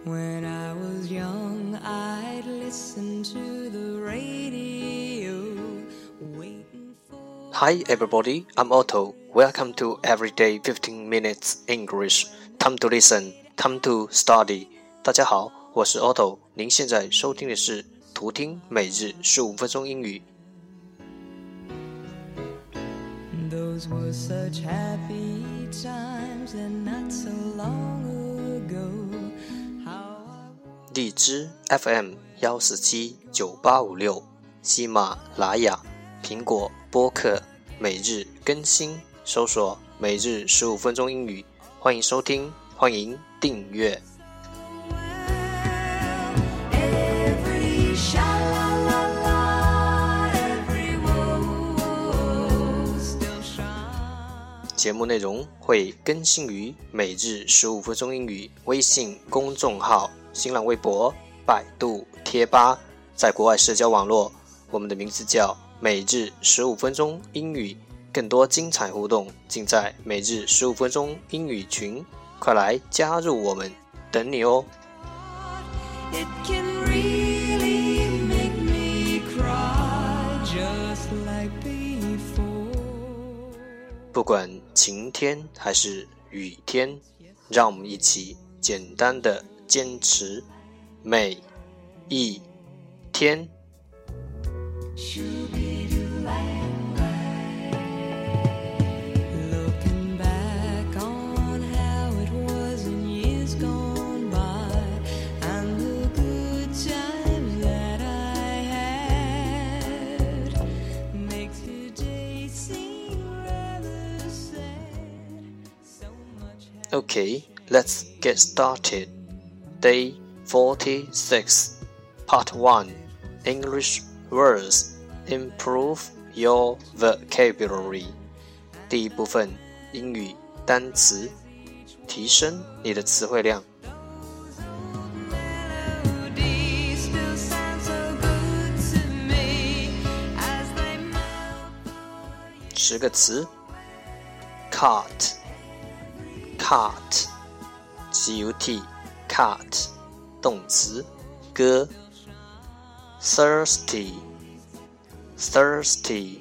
When I was young, I'd listen to the radio, waiting for... Hi everybody, I'm Otto. Welcome to Everyday 15 Minutes English. Time to listen, time to study. 大家好，我是 Otto。您现在收听的是图听每日15分钟英语。 Those were such happy times and not so long ago. 荔枝 FM 1479856，喜马拉雅，苹果播客，每日更新，搜索每日15分钟英语，欢迎收听，欢迎订阅。节目内容会更新于每日15分钟英语微信公众号、新浪微博、百度贴吧，在国外社交网络，我们的名字叫每日15分钟英语，更多精彩互动尽在每日15分钟英语群，快来加入我们，等你哦。不管晴天还是雨天，让我们一起简单的坚持每一天。Okay, let's get started. Day 46, Part 1, English words. Improve your vocabulary. 第一部分，英语单词，提升你的词汇量。10个词 Cart Cart, C-U-T, cart, 动词，歌。Thirsty, thirsty,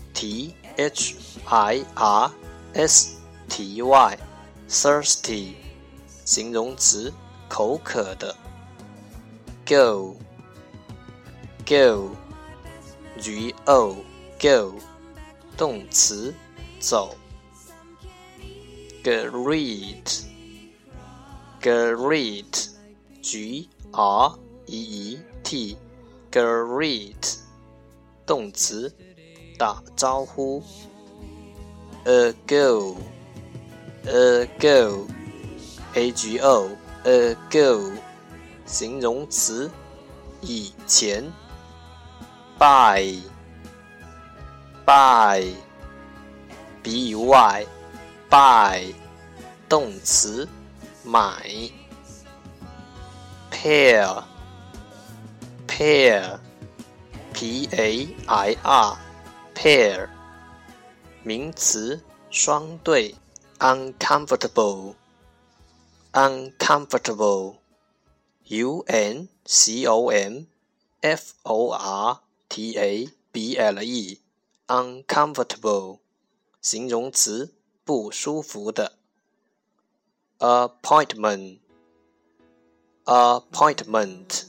T-H-I-R-S-T-Y, thirsty, 形容词，口渴的。Go, go, G-O, go, 动词，走。Greet, greet, G-R-E-E-T, greet, 动词，打招呼。Ago, ago, A-G-O, ago, 形容词，以前。Buy, buy, B-Y, buy, 动词，买。Pair, pair, P-A-I-R, pair, 名詞，雙對。Uncomfortable, uncomfortable, U-N-C-O-M-F-O-R-T-A-B-L-E, uncomfortable, 形容詞，不舒服的。Appointment, appointment,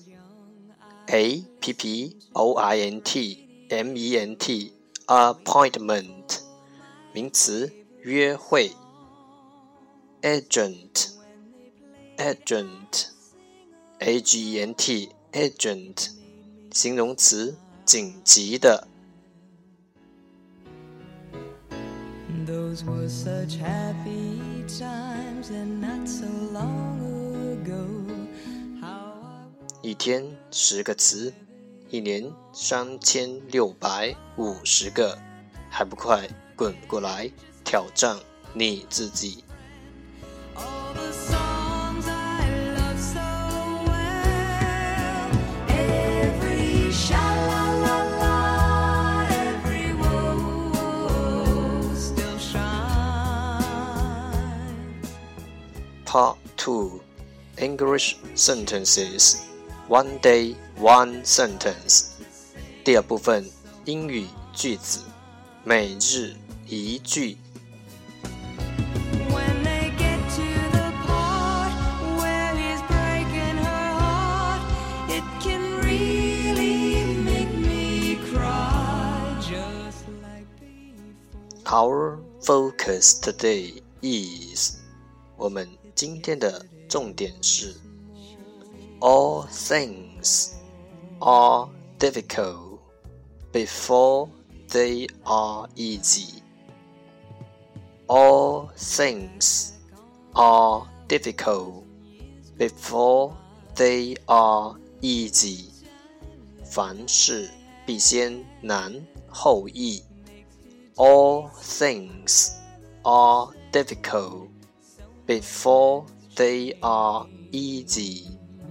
A-P-P-O-I-N-T-M-E-N-T, appointment, 名詞，約會。Agent, agent, A-G-E-N-T, agent, 形容詞，緊急的。 Those were such happy times and not so long ago. 一天10个词，一年3650个，还不快滚过来挑战你自己。Part 2, English sentences. One day, one sentence. 第二部分英语句子，每日一句。Our focus today is 我们今天的重点是 All things are difficult before they are easy. All things are difficult before they are easy. 凡事必先难后易。All things are difficult before they are easy.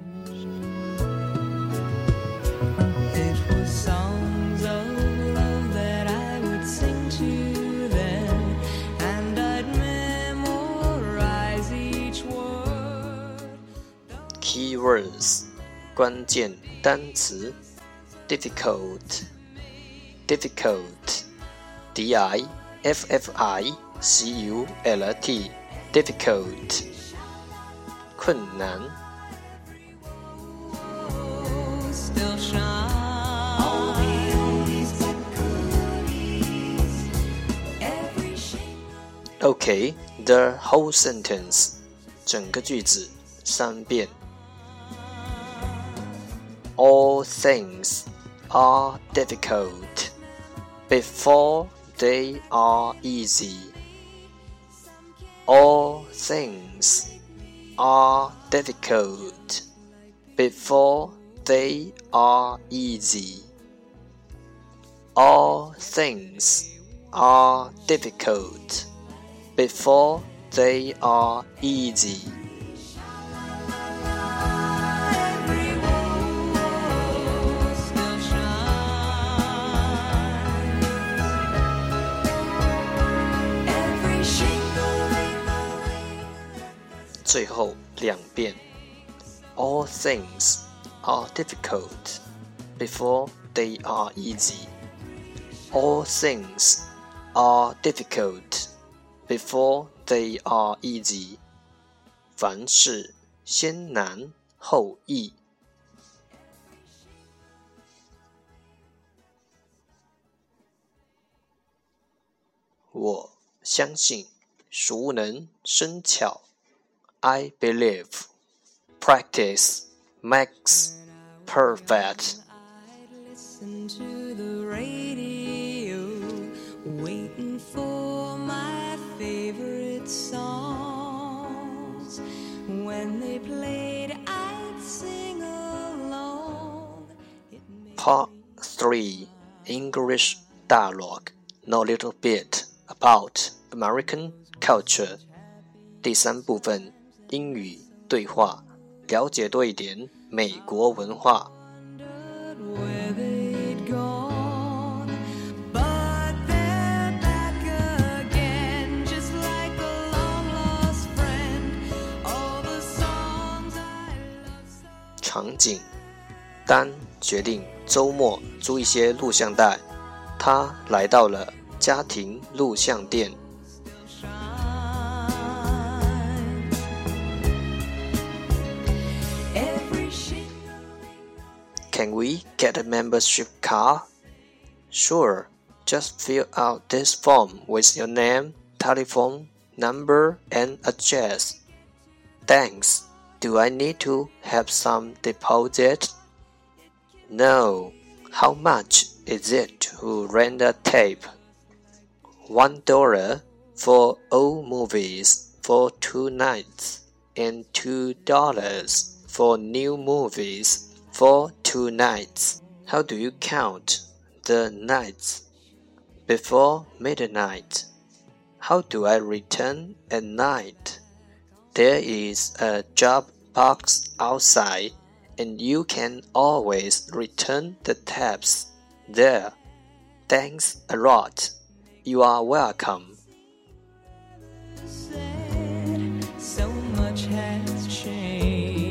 It was songs of love that I would sing to them, and I'd memorize each word. Keywords 关键单词 difficult D-I-F-F-I-C-U-L-T difficult 困难 Still shine. Okay, the whole sentence 整个句子3遍 All things are difficult before they are easy. All things are difficult before they are easy. All things are difficult before they are easy. Still shine. Every shingling 最后2遍 All things are difficult before they are easy. All things are difficult before they are easy. 凡事先难后易。我相信熟能生巧。I believe practice makes perfect. I'd listen to the radio, waiting for my favorite songs. When they played, I'd sing along. Part 3 English Dialogue. Know a little bit about American culture. 第3部分英语对话，了解多一点美国文化。 Where they'd gone, but they're back again, just like a long lost friend. All the songs I love so. 场景：丹决定周末租一些录像带，他来到了家庭录像店。Can we get a membership card? Sure, just fill out this form with your name, telephone number, and address. Thanks. Do I need to have some deposit? No. How much is it to rent a tape? $1 for old movies for 2 nights, and $2 for new movies for 2 nights. How do you count the nights? Before midnight. How do I return at night? There is a drop box outside, and you can always return the tapes there. Thanks a lot. You are welcome. So much has changed.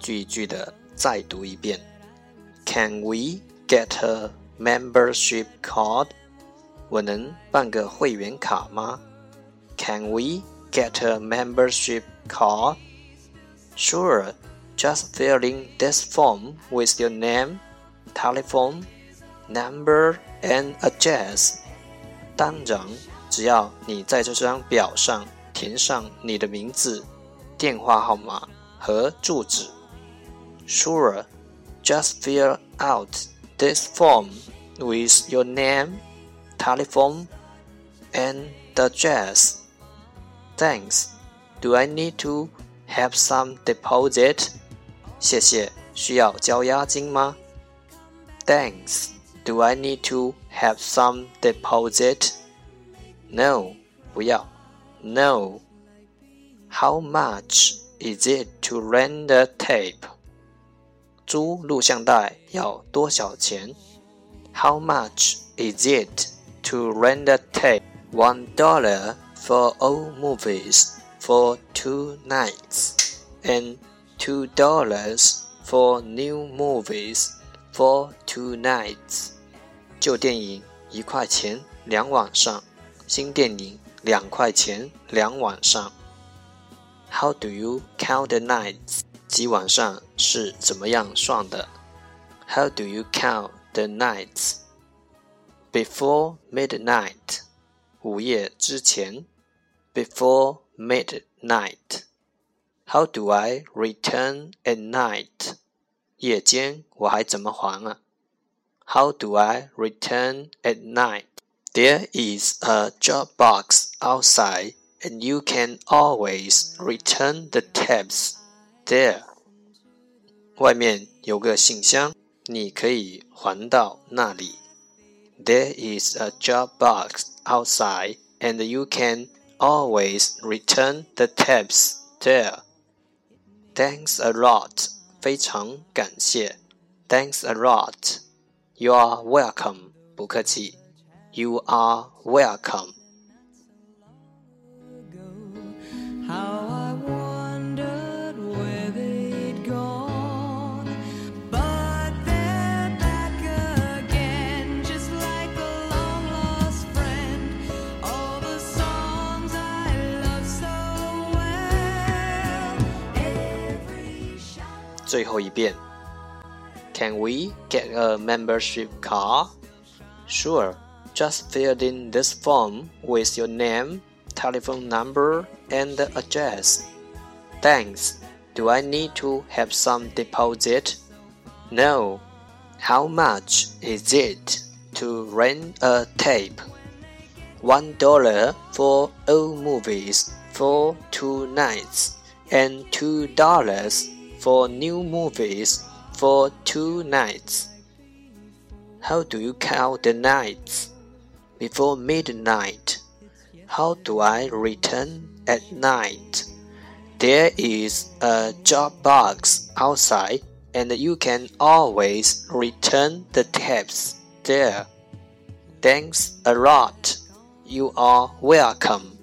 句一句的再读一遍。Can we get a membership card? 我能办个会员卡吗？ Can we get a membership card? Sure, just fill in this form with your name, telephone, number, and address. 当然，只要你在这张表上填上你的名字、电话号码和住址。Sure, just fill out this form with your name, telephone, and address. Thanks. Do I need to have some deposit? 谢谢，需要交押金吗？ Thanks. Do I need to have some deposit? No, 不要。No. How much is it to rent a tape? 租录像带要多少钱？ How much is it to rent a tape? $1 for old movies for 2 nights, and $2 for new movies for 2 nights. 旧电影1块钱2晚上，新电影2块钱2晚上。How do you count the nights? 几晚上是怎么样算的？ How do you count the nights? Before midnight. 午夜之前。Before midnight. How do I return at night? 夜间我还怎么还啊？ How do I return at night? There is a drop box outside, and you can always return the tapes there. 外面有个信箱，你可以还到那里。There is a drop box outside, and you can always return the tapes there. Thanks a lot. 非常感谢。Thanks a lot. You are welcome. 不客气。You are welcome. How I wondered where they'd gone, but they're back again, just like a long lost friend. All the songs I love so well, every shout. 最后一遍。Can we get a membership card? Sure. Just fill in this form with your name, telephone number, and address. Thanks. Do I need to have some deposit? No. How much is it to rent a tape? $1 for old movies for 2 nights, and $2 for new movies for 2 nights. How do you count the nights? Before midnight. How do I return at night? There is a drop box outside, and you can always return the tapes there. Thanks a lot. You are welcome.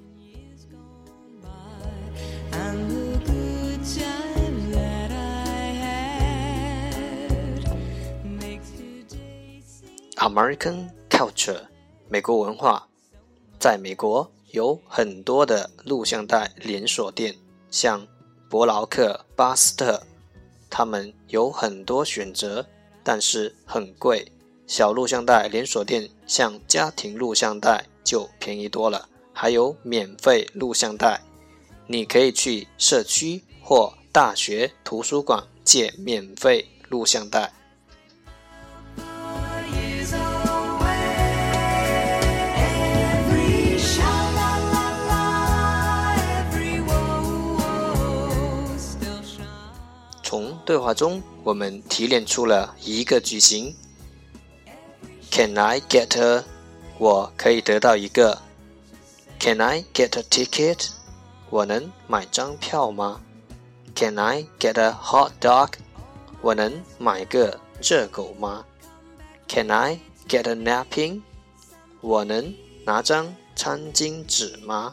And the good times that I had makes today seem American culture. 美国文化。在美国有很多的录像带连锁店，像伯劳克、巴斯特，他们有很多选择，但是很贵。小录像带连锁店像家庭录像带就便宜多了，还有免费录像带。你可以去社区或大学图书馆借免费录像带。从对话中，我们提炼出了一个句型。Can I get a？ 我可以得到一个。Can I get a ticket？ 我能买张票吗 ？Can I get a hot dog？ 我能买个热狗吗 ？Can I get a napkin？ 我能拿张餐巾纸吗？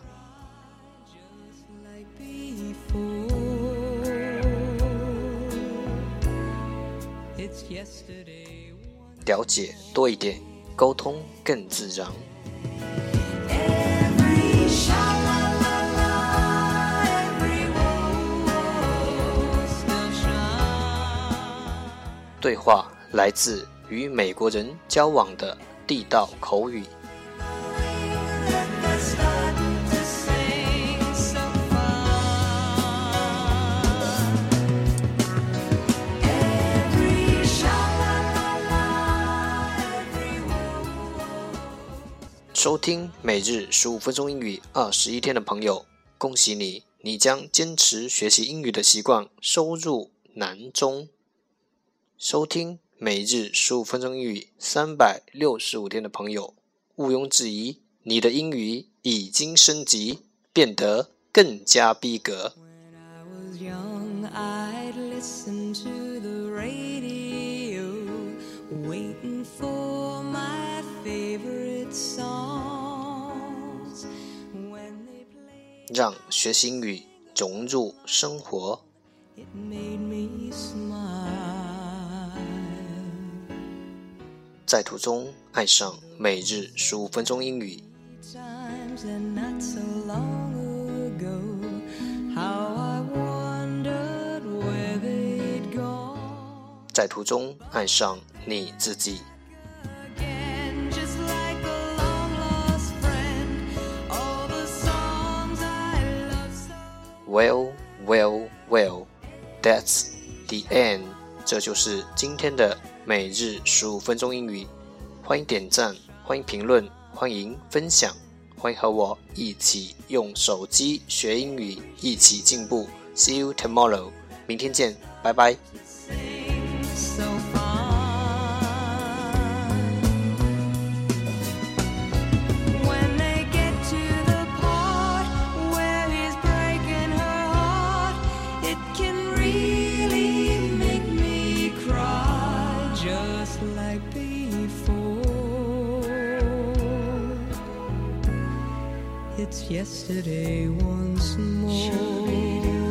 了解多一点，沟通更自然。对话来自与美国人交往的地道口语。收听每日15分钟英语21天的朋友，恭喜你，你将坚持学习英语的习惯收入囊中。收听每日15分钟英语365天的朋友，毋庸置疑，你的英语已经升级，变得更加逼格。让学习英语融入生活。在途中爱上每日15分钟英语。在途中爱上你自己。Well, that's the end. 这就是今天的每日15分钟英语。欢迎点赞，欢迎评论，欢迎分享，欢迎和我一起用手机学英语，一起进步。See you tomorrow. 明天见，拜拜。 It's yesterday once more.